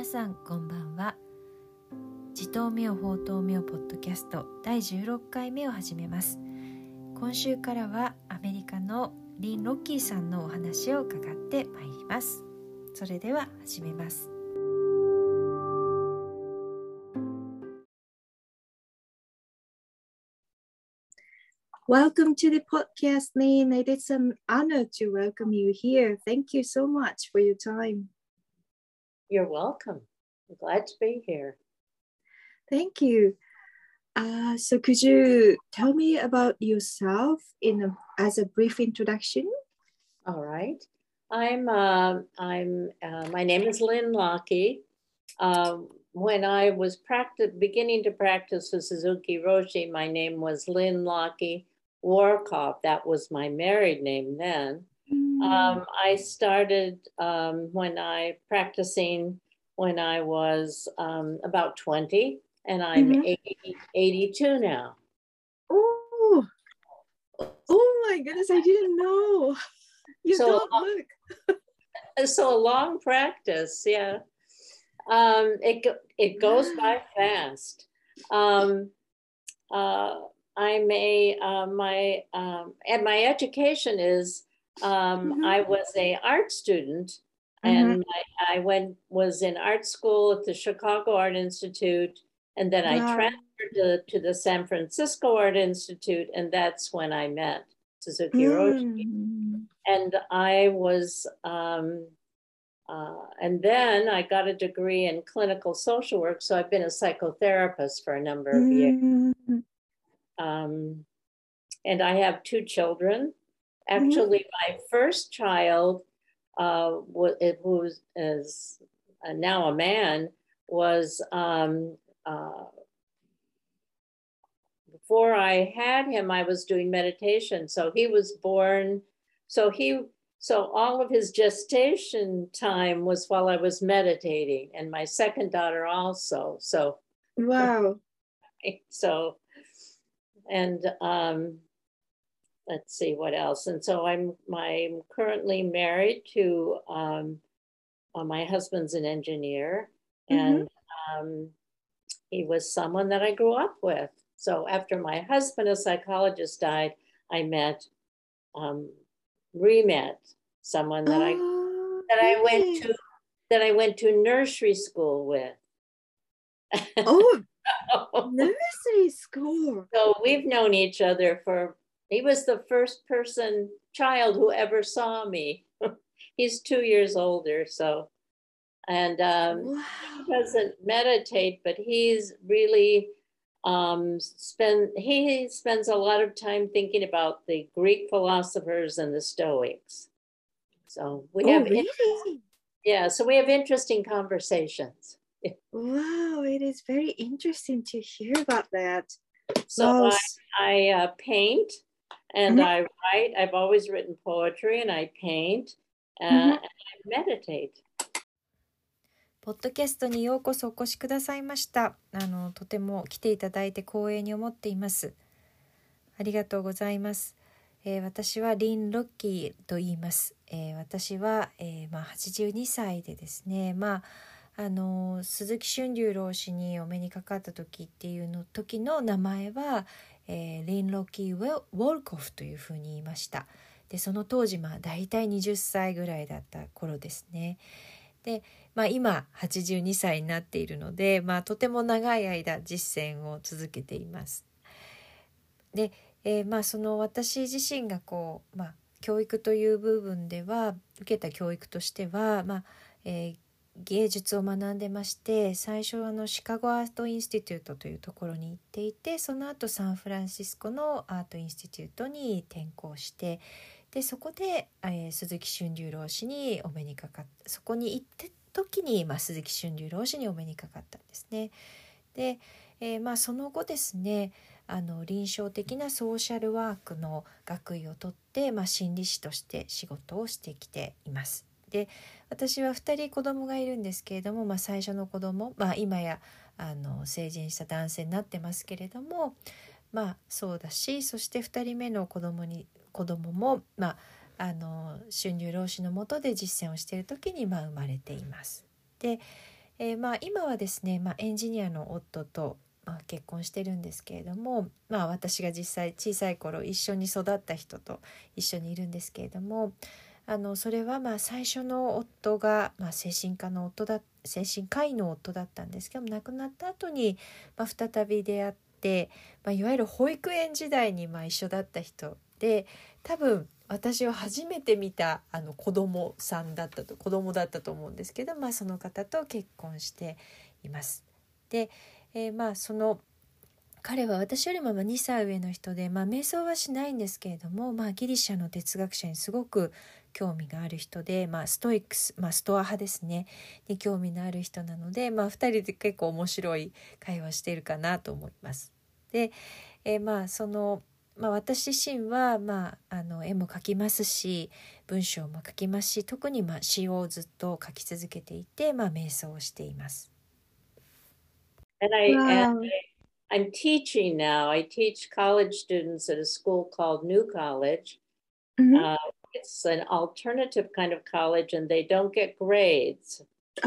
さんこんばんは。自灯明法灯明ポッドキャスト第16回目を始めます。今週からはアメリカのリン・ロッキーさんのお話を伺ってまいります。それでは始めます。 Welcome to the podcast, Lynn. It is an honor to welcome you here. Thank you so much for your time. You're welcome. I'm glad to be here. Thank you. So could you tell me about yourself as a brief introduction? All right. My name is Lynn Lockie. When I was beginning to practice with Suzuki Roshi, my name was Lynn Lockie Warkoff. That was my married name then. I started practicing when I was about 20, and I'm 82 now. Oh my goodness, I didn't know. You don't look. So a long practice, yeah. It goes by fast. My education is I was an art student, and I was in art school at the Chicago Art Institute, and then I transferred to the San Francisco Art Institute, and that's when I met Suzuki Roshi. And I was and then I got a degree in clinical social work, so I've been a psychotherapist for a number of years. And I have 2 children. Actually, my first child, who is now a man, was before I had him, I was doing meditation. So he was born. So all of his gestation time was while I was meditating, and my second daughter also. So wow. So, and let's see what else. And so I'm currently married to my husband's an engineer, and he was someone that I grew up with. So after my husband, a psychologist, died, I re-met someone that I went to nursery school with. Nursery school. So we've known each other he was the first child who ever saw me. He's 2 years older, so, and he doesn't meditate, but he's really he spends a lot of time thinking about the Greek philosophers and the Stoics. So we have so we have interesting conversations. Wow, it is very interesting to hear about that. So I paint and I write. I've always written poetry, and I paint and I meditate. ポッドキャストにようこそお越しくださいました。とても来ていただいて光栄に思っています。ありがとうございます。私はリン・ロッキーと言います。私は、82歳でですね、鈴木春龍老師にお目にかかった時の名前は、リン・ロッキー・ウォルコフというふうに言いました。でその当時だいたい20歳ぐらいだった頃ですね。で今82歳になっているので、とても長い間実践を続けています。で、その私自身が教育という部分では受けた教育としては、芸術を学んでまして、最初シカゴアートインスティテュートというところに行っていて、その後サンフランシスコのアートインスティテュートに転校して、でそこで、鈴木春龍老師にお目にかかった。そこに行った時に、鈴木春龍老師にお目にかかったんですね。で、その後ですね、臨床的なソーシャルワークの学位を取って、心理師として仕事をしてきています。で私は2人子供がいるんですけれども、最初の子供、今や成人した男性になってますけれども、そうだし、そして2人目の子供も、春龍老師の下で実践をしている時に生まれています。で、 今はですね、エンジニアの夫と、結婚してるんですけれども、私が実際小さい頃一緒に育った人と一緒にいるんですけれども、それは最初の夫が、精神科医の夫だったんですけども、亡くなった後に、再び出会って、いわゆる保育園時代に一緒だった人で、多分私は初めて見た子供だったと思うんですけど、その方と結婚しています。で、その彼は私よりも2歳上の人で、瞑想はしないんですけれども、ギリシャの哲学者にすごく興味がある人で、ストイックス、ストア派ですねに興味のある人なので、2人で結構面白い会話しているかなと思います。で、私自身は、絵も描きますし、文章も書きますし、特に詩をずっと書き続けていて、瞑想をしています。 I'm teaching now. I teach college students at a school called New College. It's an alternative kind of college, and they don't get grades.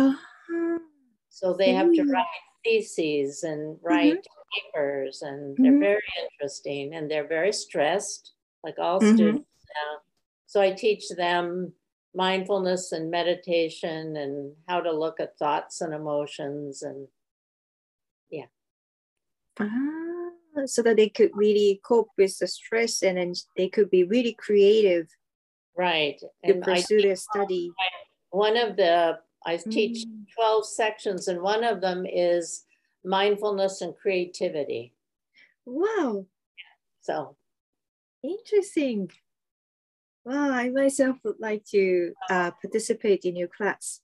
So they have to write theses and write papers, and they're very interesting, and they're very stressed, like all students now. So I teach them mindfulness and meditation and how to look at thoughts and emotions, and so that they could really cope with the stress, and then they could be really creative, right, to pursue their study. I teach 12 sections, and one of them is mindfulness and creativity. Wow. So interesting. Wow, I myself would like to participate in your class.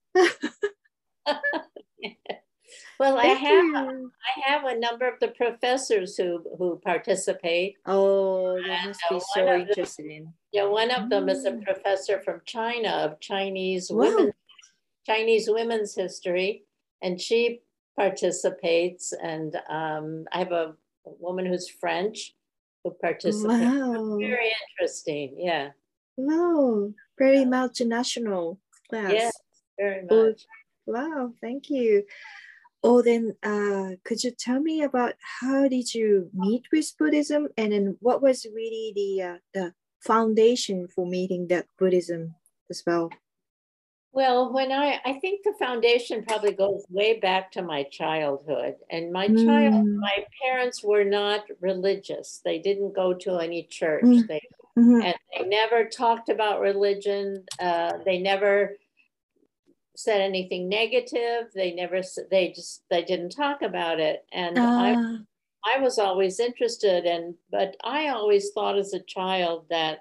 Well, I have a number of the professors who participate. Oh, they must be so interesting. One of them is a professor from China of Chinese women's history, and she participates. And I have a woman who's French who participates. Wow. Very interesting. Yeah. Wow. Very multinational class. Yes, very much. Wow. Thank you. Oh, then could you tell me about how did you meet with Buddhism, and then what was really the foundation for meeting that Buddhism as well? Well, when I think the foundation probably goes way back to my childhood, and my parents were not religious. They didn't go to any church. And they never talked about religion. They never said anything negative. They didn't talk about it. And I was always interested, but I always thought as a child that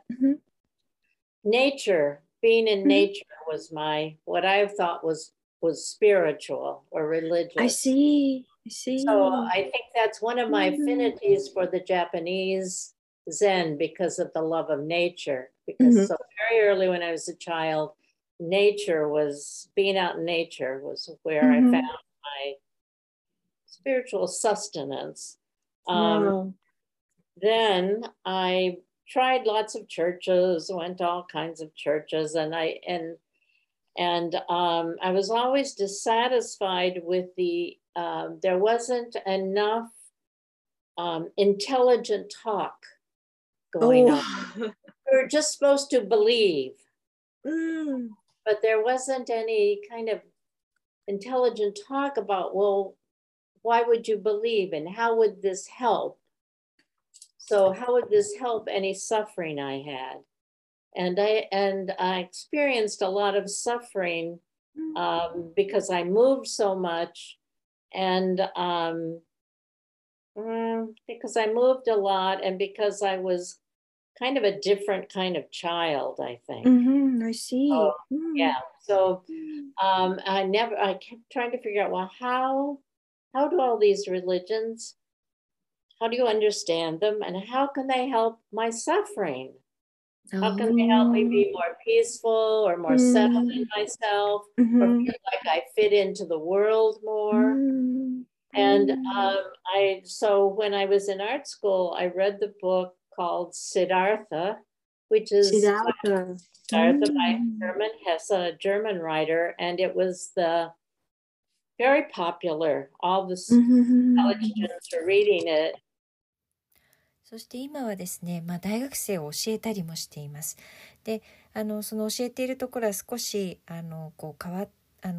being in nature was what I thought was spiritual or religious. I see. So I think that's one of my affinities for the Japanese Zen, because of the love of nature. Because so very early when I was a child, being out in nature was where I found my spiritual sustenance. Then I tried lots of churches, went to all kinds of churches, and I was always dissatisfied with there wasn't enough intelligent talk going on. We were just supposed to believe. But there wasn't any kind of intelligent talk about, well, why would you believe, and how would this help? So how would this help any suffering I had? And I experienced a lot of suffering because I moved so much, and because I moved a lot, and because I was kind of a different kind of child, I think. I see. Yeah. So I kept trying to figure out, well, how do all these religions, how do you understand them, and how can they help my suffering? How can they help me be more peaceful or more settled in myself, or feel like I fit into the world more? And so when I was in art school, I read the book called Siddhartha, which is Siddhartha by Hermann Hesse, a German writer, and it was the very popular. All the Mhm. college students are reading it. そして今はですね、大学生を教えたりもしています。で、その教えているところは少しこう変わ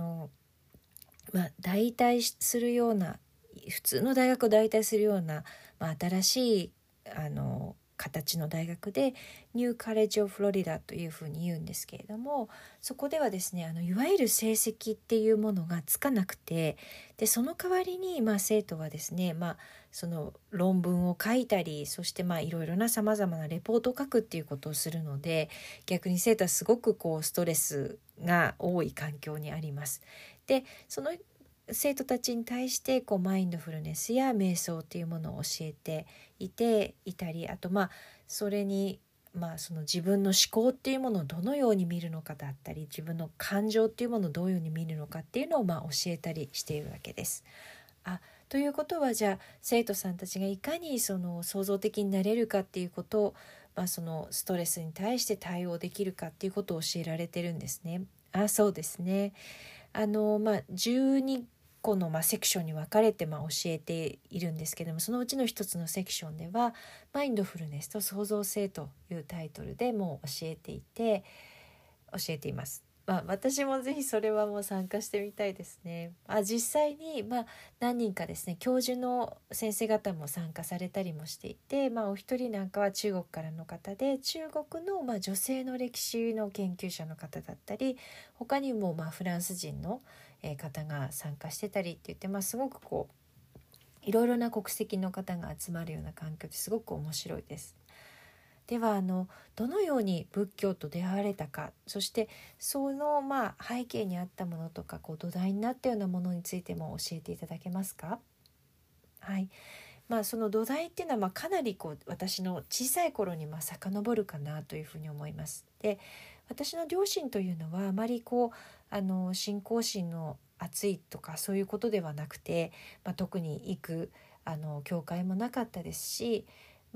代替するような、普通の大学を代替するような、新しい形の大学でニューカレッジオブフロリダというふうに言うんですけれども、そこではですね、いわゆる成績っていうものがつかなくて、でその代わりに生徒はですね、その論文を書いたり、そしていろいろなさまざまなレポートを書くっていうことをするので、逆に生徒はすごくストレスが多い環境にあります。でその生徒たちに対してマインドフルネスや瞑想っていうものを教えていたり、あとそれにその自分の思考っていうものをどのように見るのかだったり、自分の感情っていうものをどういうふうに見るのかっていうのを教えたりしているわけです。ということは、じゃあ生徒さんたちがいかにその創造的になれるかっていうことを、そのストレスに対して対応できるかっていうことを教えられてるんですね。そうですね。12個のセクションに分かれて教えているんですけども、そのうちの一つのセクションではマインドフルネスと創造性というタイトルでもう教えています。私もぜひそれはもう参加してみたいですね。実際に何人かですね、教授の先生方も参加されたりもしていて、お一人なんかは中国からの方で、中国の女性の歴史の研究者の方だったり、他にもフランス人の方が参加してたりって言って、すごくいろいろな国籍の方が集まるような環境ですごく面白いです。ではどのように仏教と出会われたか、そしてその背景にあったものとか土台になったようなものについても教えていただけますか？はい。その土台っていうのはかなり私の小さい頃に遡るかなというふうに思います。で、私の両親というのはあまり信仰心の熱いとかそういうことではなくて、特に行く教会もなかったですし、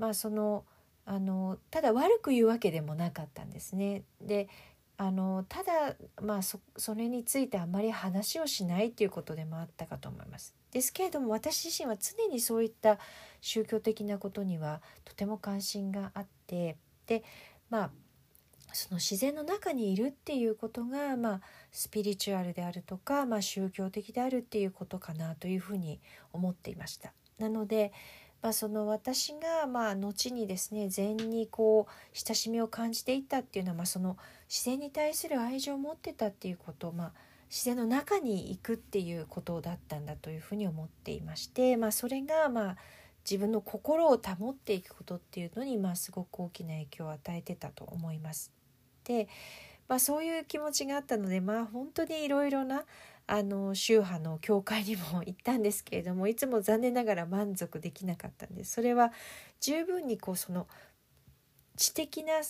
ただ悪く言うわけでもなかったんですね。でただそれについてあまり話をしないっていうことでもあったかと思います。ですけれども、私自身は常にそういった宗教的なことにはとても関心があって、でその自然の中にいるっていうことがスピリチュアルであるとか、宗教的であるっていうことかなというふうに思っていました。なのでその私が後にですね、禅に親しみを感じていったっていうのは、その自然に対する愛情を持ってたっていうこと、自然の中に行くっていうことだったんだというふうに思っていまして、それが自分の心を保っていくことっていうのにすごく大きな影響を与えてたと思います。で、そういう気持ちがあったので、本当にいろいろな宗派の教会にも行ったんですけれども、いつも残念ながら満足できなかったんです。それは十分にその知的な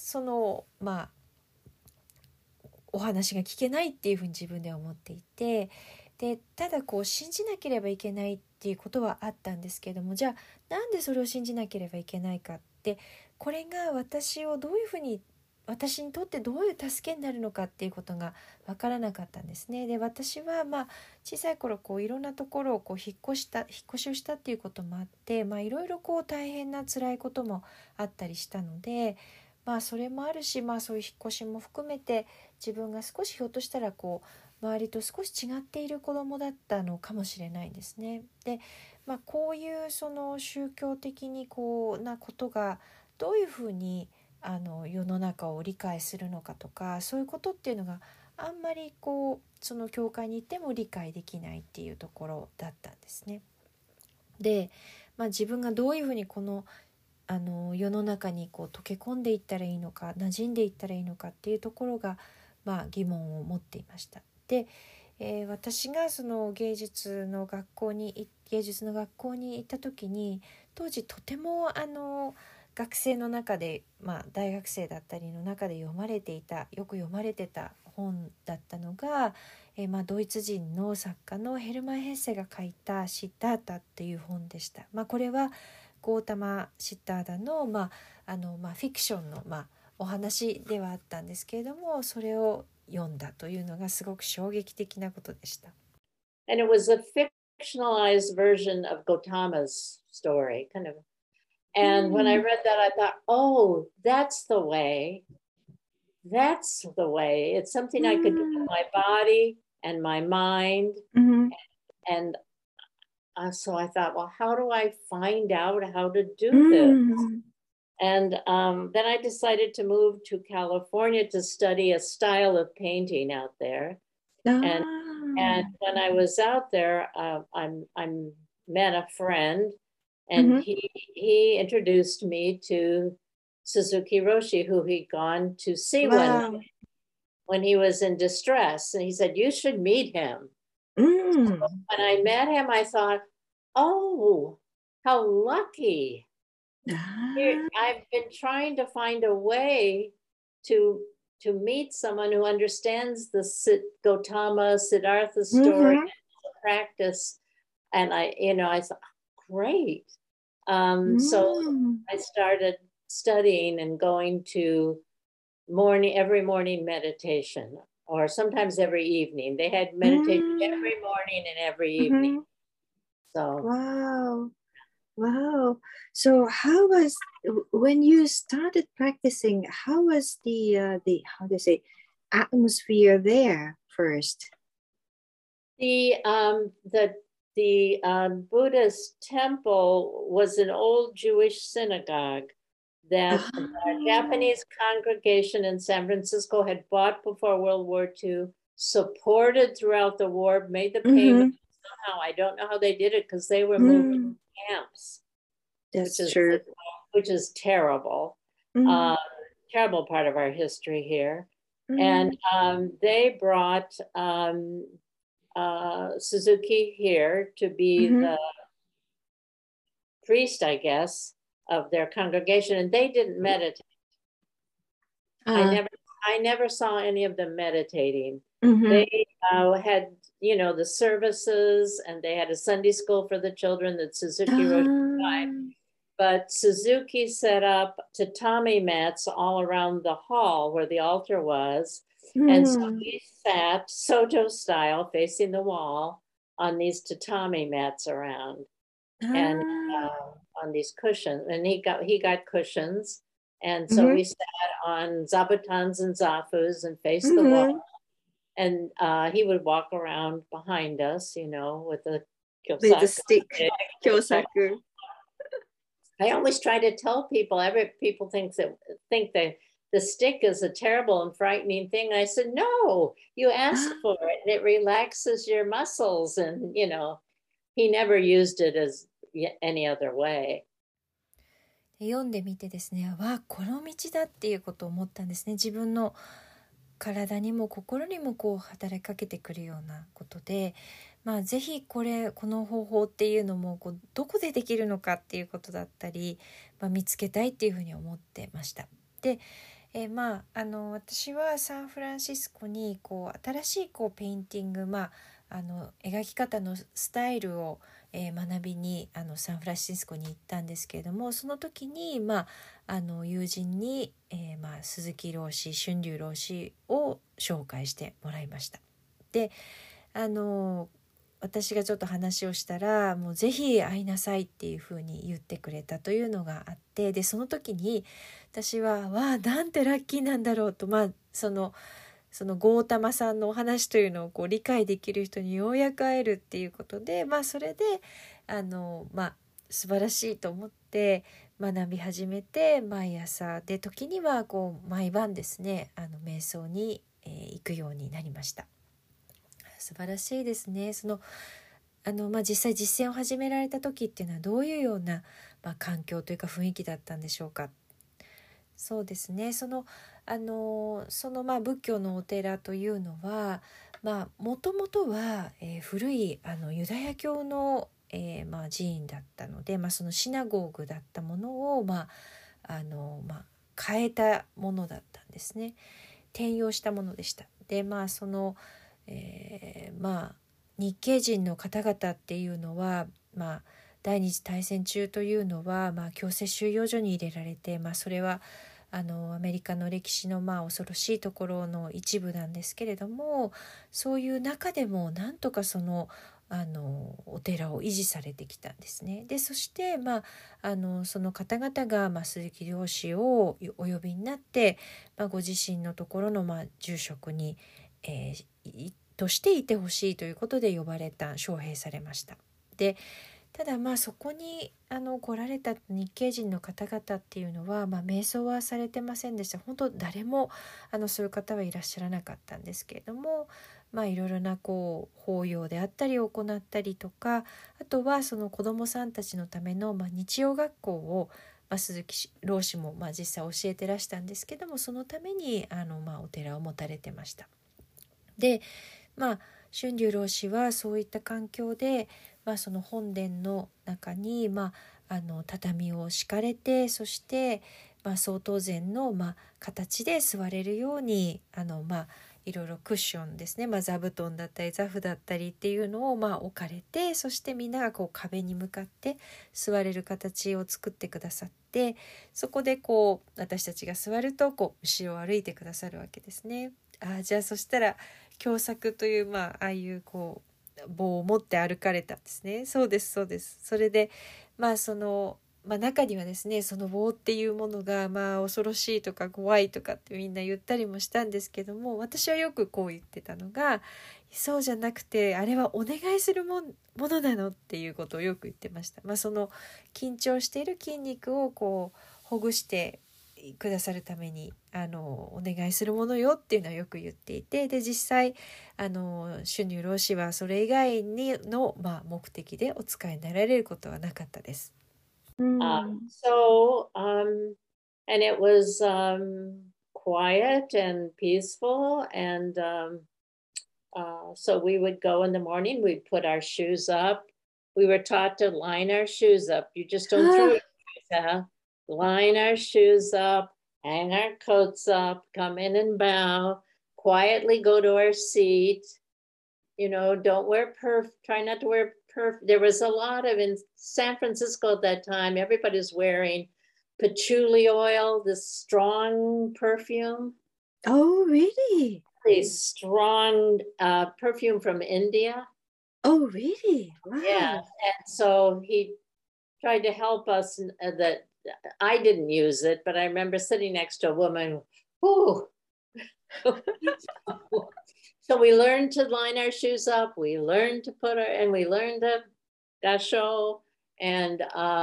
お話が聞けないっていうふうに自分では思っていて、でただ信じなければいけないっていうことはあったんですけれども、じゃあなんでそれを信じなければいけないかって、これが私にとってどういう助けになるのかっていうことが分からなかったんですね。で、私は小さい頃いろんなところを引っ越しをしたっていうこともあって、いろいろ大変な辛いこともあったりしたので、それもあるし、そういう引っ越しも含めて自分が少しひょっとしたら周りと少し違っている子供だったのかもしれないんですね。で、こういうその宗教的になことがどういうふうに世の中を理解するのかとか、そういうことっていうのがあんまりその教会に行っても理解できないっていうところだったんですね。で、自分がどういうふうに世の中に溶け込んでいったらいいのか、馴染んでいったらいいのかっていうところが疑問を持っていました。で、私がその芸術の学校に行った時に、当時とても学生の中で、大学生だったりの中でよく読まれてた本だったのが、ドイツ人の作家のヘルマン・ヘッセが書いたシッダータっていう本でした。これはゴータマ・シッダータの、フィクションの、お話ではあったんですけれども、それを読んだというのがすごく衝撃的なことでした。 and it was a fictionalized version of Gautama's story, kind of. And when I read that, I thought, oh, that's the way. That's the way. It's something I could do with my body and my mind. And so I thought, well, how do I find out how to do this? And then I decided to move to California to study a style of painting out there. And when I was out there, I met a friend, and he introduced me to Suzuki Roshi, who he'd gone to see when he was in distress. And he said, you should meet him. So when I met him, I thought, oh, how lucky. I've been trying to find a way to meet someone who understands the Gautama Siddhartha story, practice. And I thought, great. So I started studying and going to every morning meditation, or sometimes every evening. They had meditation every morning and every evening. So wow. So how was, when you started practicing, how was the how do you say, atmosphere there first? The Buddhist temple was an old Jewish synagogue that a Japanese congregation in San Francisco had bought before World War II, supported throughout the war, made the payment. Somehow, I don't know how they did it, because they were moving camps. That's true. Which is terrible. Terrible part of our history here. And they brought Suzuki here to be the priest, I guess, of their congregation, and they didn't meditate. I never saw any of them meditating. They had, the services, and they had a Sunday school for the children that Suzuki Roshi. But Suzuki set up tatami mats all around the hall where the altar was. And so we sat Soto style, facing the wall, on these tatami mats around, and on these cushions. And he got cushions, and so we sat on zabutons and zafus and faced the wall. And he would walk around behind us, with a kyosaku. With a stick, kyosaku. I always try to tell people, people think that the stick is a terrible and frightening thing. I said, no, you ask for it, and it relaxes your muscles. And, he never used it as any other way. 読んでみてですね、この道だっていうことを思ったんですね。自分の体にも心にも働きかけてくるようなことで、ぜひこの方法っていうのもどこでできるのかっていうことだったり、見つけたいっていうふうに思ってました。で、私はサンフランシスコに新しいペインティング、描き方のスタイルを、学びにサンフランシスコに行ったんですけれども、その時に、友人に、鈴木老師、春龍老師を紹介してもらいました。で、私がちょっと話をしたら、もうぜひ会いなさいっていうふうに言ってくれたというのがあって、でその時に私はなんてラッキーなんだろうと、そのゴータマさんのお話というのを理解できる人にようやく会えるっていうことで、それで素晴らしいと思って学び始めて、毎朝で時には毎晩ですね、瞑想に、行くようになりました。素晴らしいですね。実際実践を始められた時っていうのはどういうような、環境というか雰囲気だったんでしょうか。そうですね、仏教のお寺というのはもともとは、古いユダヤ教の、寺院だったので、そのシナゴーグだったものを、変えたものだったんですね。転用したものでした。で日系人の方々っていうのは、第二次大戦中というのは、強制収容所に入れられて、それはアメリカの歴史の恐ろしいところの一部なんですけれども、そういう中でもなんとかお寺を維持されてきたんですね。でそして、その方々が、鈴木漁師をお呼びになって、ご自身のところの、住職に、としていてほしいということで呼ばれた、招聘されました。でただそこに来られた日系人の方々っていうのは、瞑想はされてませんでした。本当誰もそういう方はいらっしゃらなかったんですけれども、いろいろな法要であったり行ったりとか、あとはその子どもさんたちのための、日曜学校を、鈴木老師も、実際教えてらしたんですけども、そのためにお寺を持たれてました。で春龍老師はそういった環境で、その本殿の中に、畳を敷かれて、そして、曹洞禅の、形で座れるようにいろいろクッションですね、座布団だったり座布だったりっていうのを置かれて、そしてみんなが壁に向かって座れる形を作ってくださって、そこで私たちが座ると後ろを歩いてくださるわけですね。じゃあそしたら共作という、ああいう棒を持って歩かれたんですね。そうですそうです。それでその中にはですね、その棒っていうものが恐ろしいとか怖いとかってみんな言ったりもしたんですけども、私はよく言ってたのが、そうじゃなくてあれはお願いするものなのっていうことをよく言ってました。その緊張している筋肉をほぐしてくださるためにお願いするものよっていうのはよく言っていて、で実際春龍老師はそれ以外の、目的でお使いになられることはなかったです。 And it was quiet and peaceful, and so we would go in the morning, we'd put our shoes up. We were taught to line our shoes up. You just don't throw your shoes out. Line our shoes up, hang our coats up, come in and bow, quietly go to our seat. Don't wear try not to wear there was a lot of, in San Francisco at that time, everybody's wearing patchouli oil, this strong perfume. Oh, really? Really strong perfume from India. Oh, really? Wow. Yeah, and so he tried to help us that I didn't use it, but I remember sitting next to a woman, whoo. So we learned to line our shoes up. We learned to we learned to gasho, and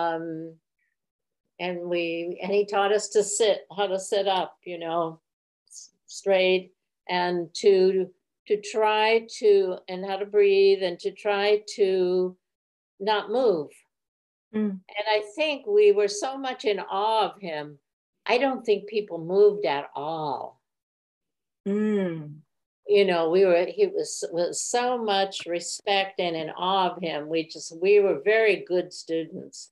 he taught us how to sit up, straight, and to try to, and how to breathe, and to try to not move. And I think we were so much in awe of him. I don't think people moved at all. He was so much respect and in awe of him. We were very good students.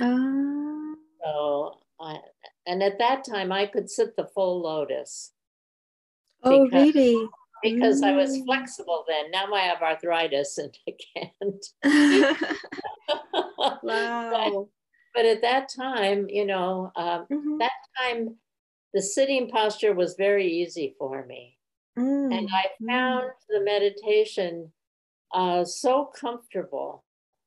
So, and at that time I could sit the full lotus. Really? Because I was flexible then. Now I have arthritis and I can't. Wow. But at that time, that time the sitting posture was very easy for me. And I found the meditation so comfortable.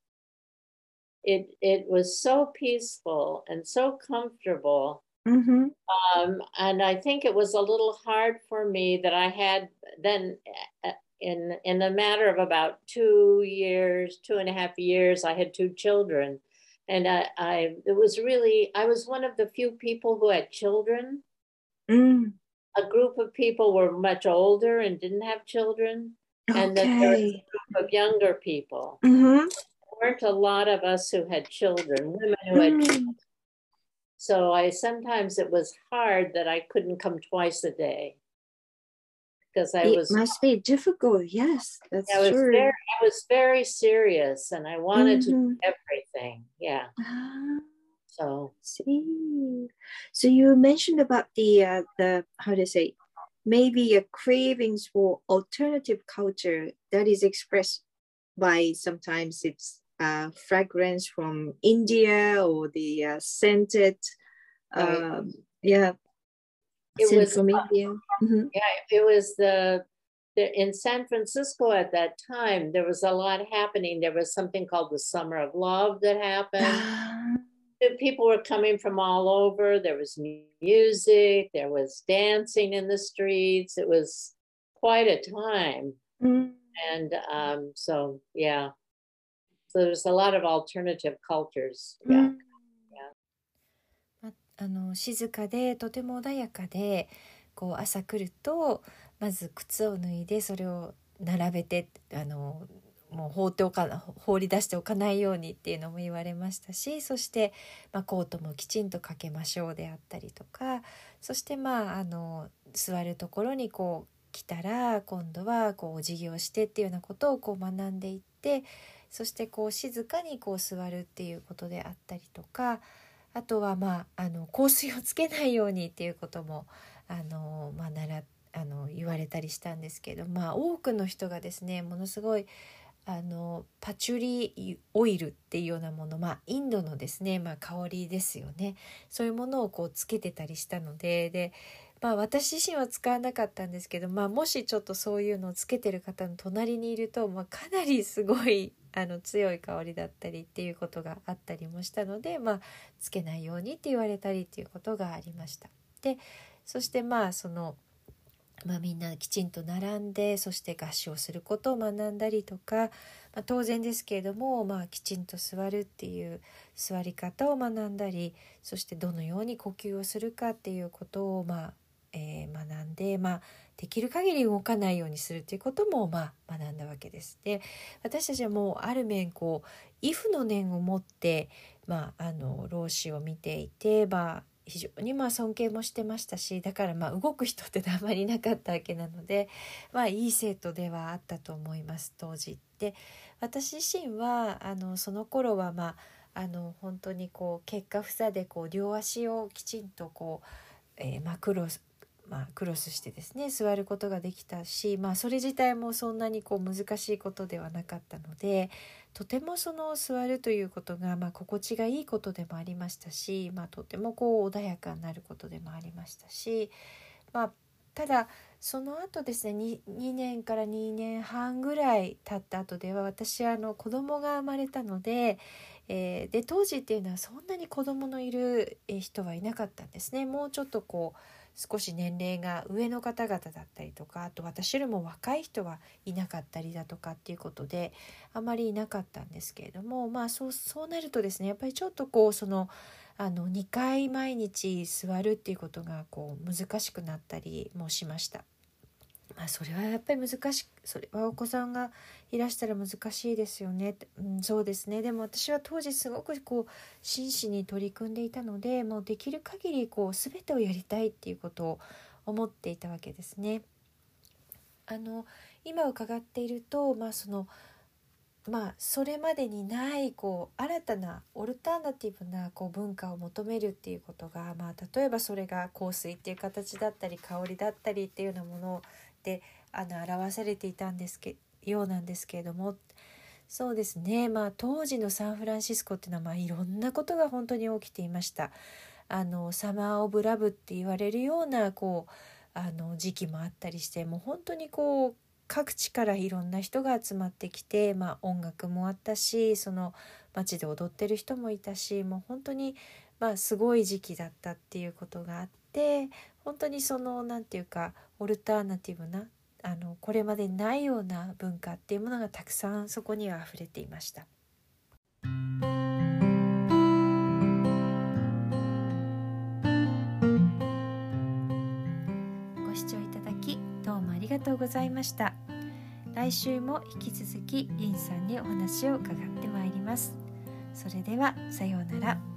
It was so peaceful and so comfortable. And I think it was a little hard for me that I had then, in a matter of about 2.5 years, I had 2 children. And I was one of the few people who had children. A group of people were much older and didn't have children. And then there was a group of younger people. There weren't a lot of us who had children, women who had children. So sometimes it was hard that I couldn't come twice a day. Because it must be difficult. Yes, that's true. I was very serious and I wanted to do everything. Yeah. So you mentioned about the how to say, maybe a cravings for alternative culture that is expressed by sometimes it's fragrance from India or the scented it was from India. Yeah, it was the in San Francisco at that time, there was a lot happening. There was something called the Summer of Love that happened. People were coming from all over. There was music, there was dancing in the streets. It was quite a time. And so, yeah. So there's a lot of alternative cultures. Yeah. 静かでとても穏やかで、こう朝来るとまず靴を脱いでそれを並べてもう放り出しておかないようにっていうのも言われましたし、そして、コートもきちんとかけましょうであったりとか、そして座るところにこう来たら今度はこうお辞儀をしてっていうようなことをこう学んでいって、そしてこう静かにこう座るっていうことであったりとか、あとは香水をつけないようにっていうことも言われたりしたんですけど、多くの人がですねものすごいパチュリオイルっていうようなもの、インドのですね、香りですよね、そういうものをこうつけてたりしたので、私自身は使わなかったんですけど、もしちょっとそういうのをつけてる方の隣にいると、かなりすごい強い香りだったりっていうことがあったりもしたので、つけないようにって言われたりっていうことがありました。でそしてみんなきちんと並んで、そして合唱することを学んだりとか、当然ですけれども、きちんと座るっていう座り方を学んだり、そしてどのように呼吸をするかっていうことを学んで、できる限り動かないようにするということも学んだわけです。で私たちはもうある面こう畏怖の念を持って老子を見ていて、非常に尊敬もしてましたし、だから動く人ってあまりいなかったわけなので、いい生徒ではあったと思います当時。で私自身はその頃は本当にこう結果房でこう両足をきちんとこう、クロスしてですね座ることができたし、それ自体もそんなにこう難しいことではなかったので、とてもその座るということが心地がいいことでもありましたし、とてもこう穏やかになることでもありましたし、ただその後ですね 2年から2年半ぐらい経った後では、私子供が生まれたので、で当時っていうのはそんなに子供のいる人はいなかったんですね。もうちょっとこう少し年齢が上の方々だったりとか、あと私よりも若い人はいなかったりだとかっていうことであまりいなかったんですけれども、そうなるとですね、やっぱりちょっとこう2回毎日座るっていうことがこう難しくなったりもしました。それはやっぱりそれはお子さんがいらしたら難しいですよね、そうですね。でも私は当時すごくこう真摯に取り組んでいたので、もうできる限りこう全てをやりたいっていうことを思っていたわけですね。今伺っていると、それまでにないこう新たなオルタナティブなこう文化を求めるっていうことが、例えばそれが香水っていう形だったり香りだったりっていうようなもので表されていたようなんですけれども、そうですね、当時のサンフランシスコっていうのはいろんなことが本当に起きていました。サマーオブラブって言われるようなこう時期もあったりして、もう本当にこう各地からいろんな人が集まってきて、音楽もあったし、その街で踊ってる人もいたし、もう本当にすごい時期だったっていうことがあって、本当になんていうかオルタナティブなこれまでにないような文化っていうものがたくさんそこには溢れていました。ご視聴いただきどうもありがとうございました。来週も引き続きリンさんにお話を伺ってまいります。それではさようなら。